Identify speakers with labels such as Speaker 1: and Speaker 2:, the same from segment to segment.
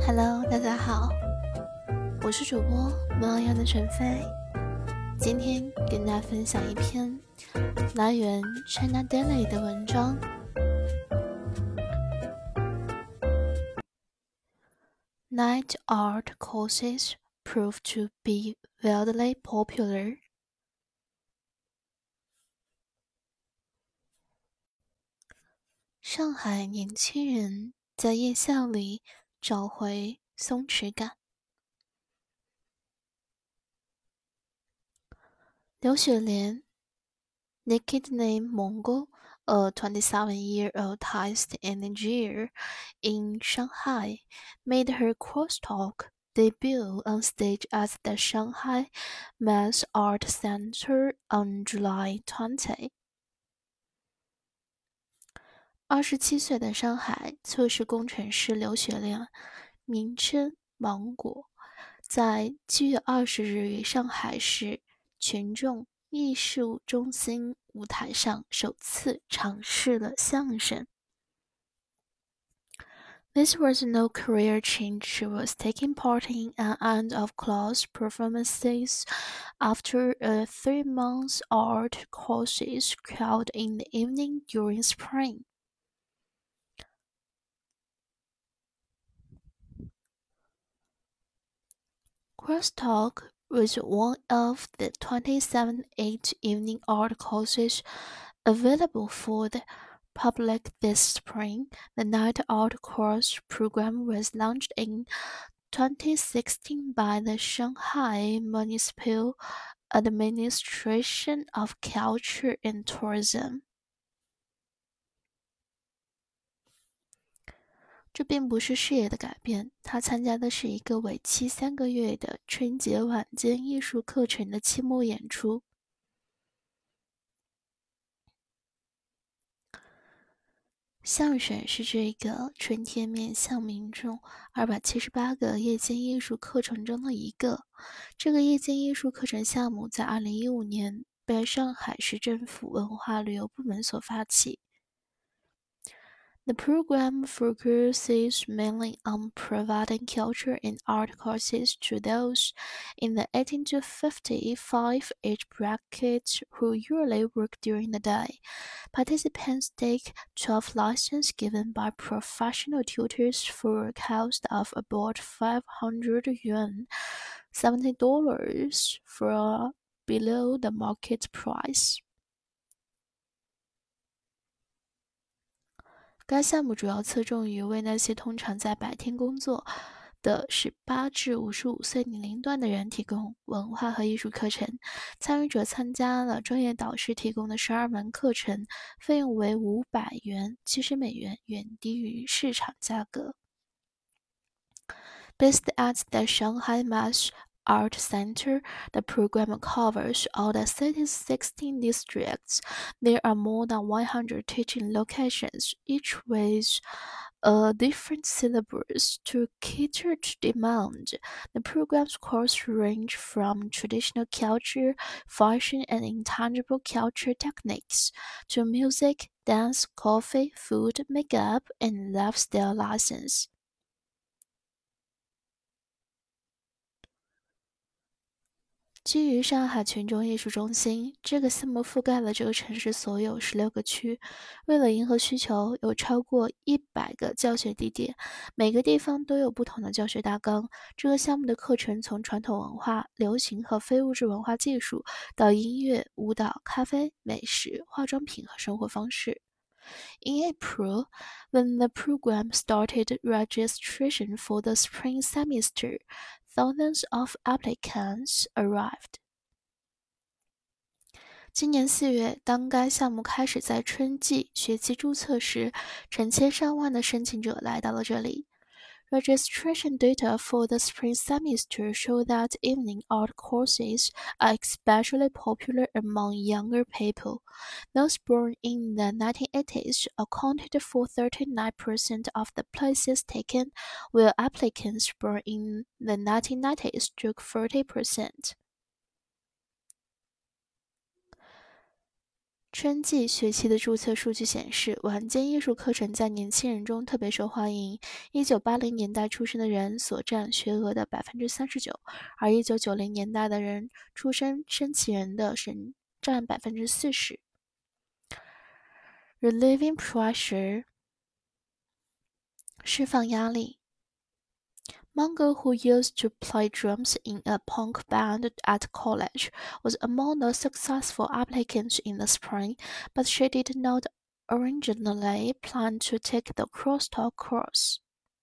Speaker 1: Hello，大家好，我是主播猫样的陈飞，今天跟大家分享一篇来源 China Daily 的文章。Night art courses prove to be wildly popular. 上海年轻人在夜校里找回松弛感。刘雪莲 nicknamed Mongol, a 27-year-old artist engineer in Shanghai, made her crosstalk debut on stage at the Shanghai Mass Art Center on July 20. 27岁的上海测试工程师刘雪莲，名称芒果，在7月20日于上海市群众艺术中心舞台上首次尝试了相声。This was no career change. She was taking part in an end-of-class performances after a 3-month art courses held in the evening during spring. Crosstalk was one of the 27 8-evening art courses available for the public this spring. The Night Art course program was launched in 2016 by the Shanghai Municipal Administration of Culture and Tourism. 这并不是视野的改变，他参加的是一个为期3个月的春节晚间艺术课程的期末演出。相声是这个春天面向民众278个夜间艺术课程中的一个。这个夜间艺术课程项目在2015年被上海市政府文化旅游部门所发起。The program focuses mainly on providing culture and art courses to those in the 18 to 55 age bracket who usually work during the day. Participants take 12 lessons given by professional tutors for a cost of about 500 yuan, $70 for below the market price. 该项目主要侧重于为那些通常在白天工作的18至55岁年龄段的人提供文化和艺术课程。参与者参加了专业导师提供的12门课程，费用为500元，70美元，远低于市场价格。Based at the Shanghai Mass Art Center, the program covers all the city's 16 districts. There are more than 100 teaching locations, each with a different syllabus to cater to demand. The program's courses range from traditional culture, fashion, and intangible culture techniques to music, dance, coffee, food, makeup, and lifestyle lessons. 基于上海群众艺术中心，这个项目覆盖了这个城市所有16个区。为了迎合需求，有超过100个教学地点，每个地方都有不同的教学大纲。这个项目的课程从传统文化、流行和非物质文化技术，到音乐、舞蹈、咖啡、美食、化妆品和生活方式。In April, when the program started registration for the spring semester, thousands of applicants arrived. 今年4月，当该项目开始在春季学期注册时，成千上万的申请者来到了这里。Registration data for the spring semester show that evening art courses are especially popular among younger people. Those born in the 1980s accounted for 39% of the places taken, while applicants born in the 1990s took 40%. 春季学期的注册数据显示，晚间艺术课程在年轻人中特别受欢迎。1980年代出生的人所占学额的39%，而1990年代的人出生申请人的占40%。Relieving pressure， 释放压力。Mongo, who used to play drums in a punk band at college, was among the successful applicants in the spring, but she did not originally plan to take the crosstalk course.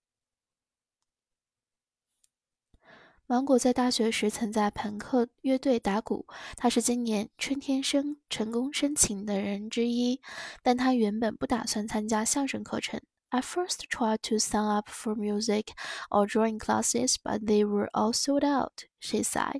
Speaker 1: 芒果在大学时曾在朋克乐队打鼓，他是今年春天成功申请的人之一，但他原本不打算参加相声课程。I first tried to sign up for music or drawing classes, but they were all sold out, she said.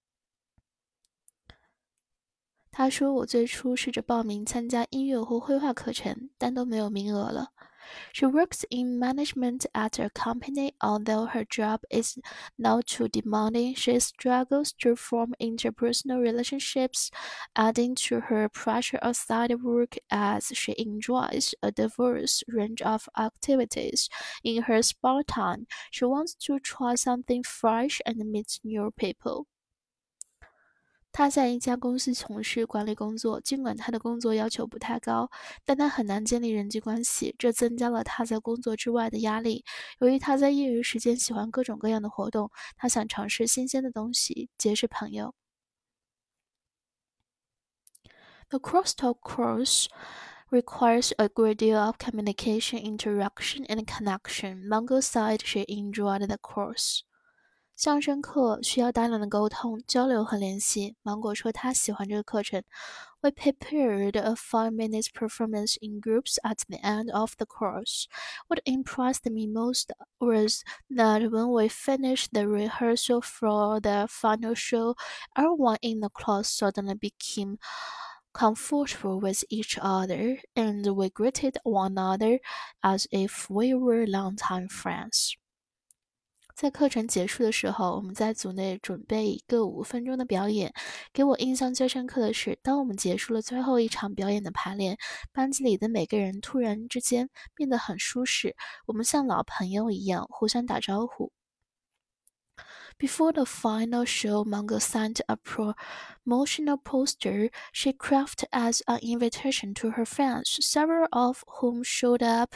Speaker 1: 他说：“我最初试着报名参加音乐或绘画课程，但都没有名额了。” She works in management at a company. Although her job is not too demanding, she struggles to form interpersonal relationships, adding to her pressure outside of work as she enjoys a diverse range of activities. In her spare time, she wants to try something fresh and meet new people. 他在一家公司从事管理工作，尽管他的工作要求不太高，但他很难建立人际关系，这增加了他在工作之外的压力。由于他在业余时间喜欢各种各样的活动，他想尝试新鲜的东西，结识朋友。The crosstalk course requires a great deal of communication, interaction, and connection. Mongo said she enjoyed the course. 相声课需要大量的沟通、交流和联系。芒果说他喜欢这个课程。We prepared a 5-minute performance in groups at the end of the course. What impressed me most was that when we finished the rehearsal for the final show, everyone in the class suddenly became comfortable with each other, and we greeted one another as if we were longtime friends. 在课程结束的时候，我们在组内准备一个5分钟的表演。给我印象最深刻的是，当我们结束了最后一场表演的排练，班级里的每个人突然之间变得很舒适，我们像老朋友一样互相打招呼。Before the final show, Mongo sent a promotional poster she crafted as an invitation to her fans, several of whom showed up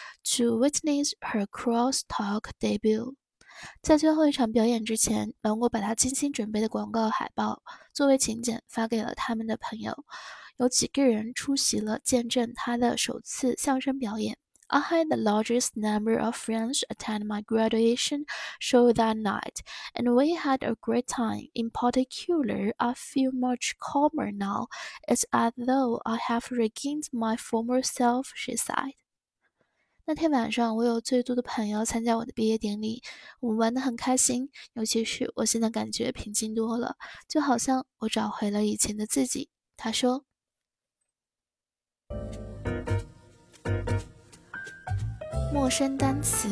Speaker 1: to witness her crosstalk debut. 在最后一场表演之前，芒果把他精心准备的广告海报作为请柬发给了他们的朋友。有几个人出席了见证他的首次相声表演。I had the largest number of friends attend my graduation show that night, and we had a great time. In particular, I feel much calmer now. It's as though I have regained my former self, she said. 那天晚上，我有最多的朋友参加我的毕业典礼，我们玩得很开心。尤其是我现在感觉平静多了，就好像我找回了以前的自己。他说。陌生单词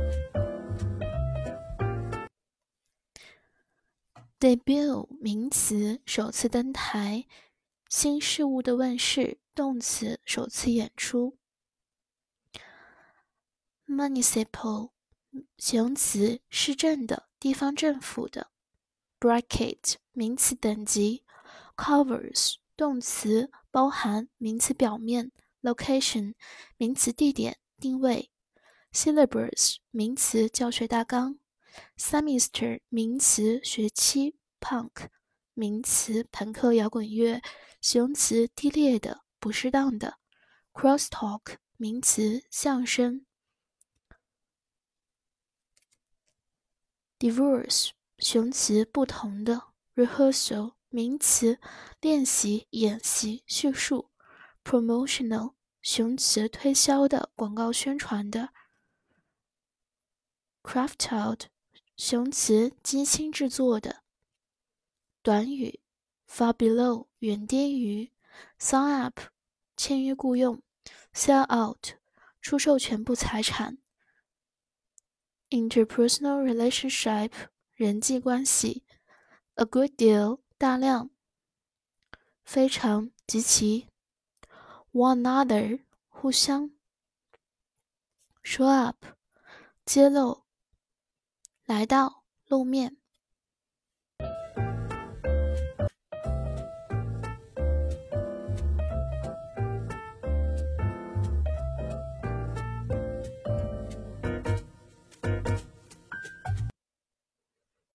Speaker 1: debut 名词，首次登台，新事物的问世，动词，首次演出。Municipal 形容词，市政的，地方政府的。Bracket 名词等级。Covers 动词，包含，名词表面。Location 名词地点，定位。Syllabus 名词，教学大纲。Semester 名词，学期。Punk 名词，朋克摇滚乐。形容词，低劣的，不适当的。Crosstalk 名词，相声。Diverse 形容词，不同的。Rehearsal 名词，练习、演习、叙述。Promotional 形容词，推销的、广告宣传的。Craft out 形容词，精心制作的。短语 far below 远低于。Sign up 签约雇佣。Sell out 出售全部财产。Interpersonal relationship 人际关系。A good deal 大量。非常，极其。 one another 互相 show up 揭露来到露面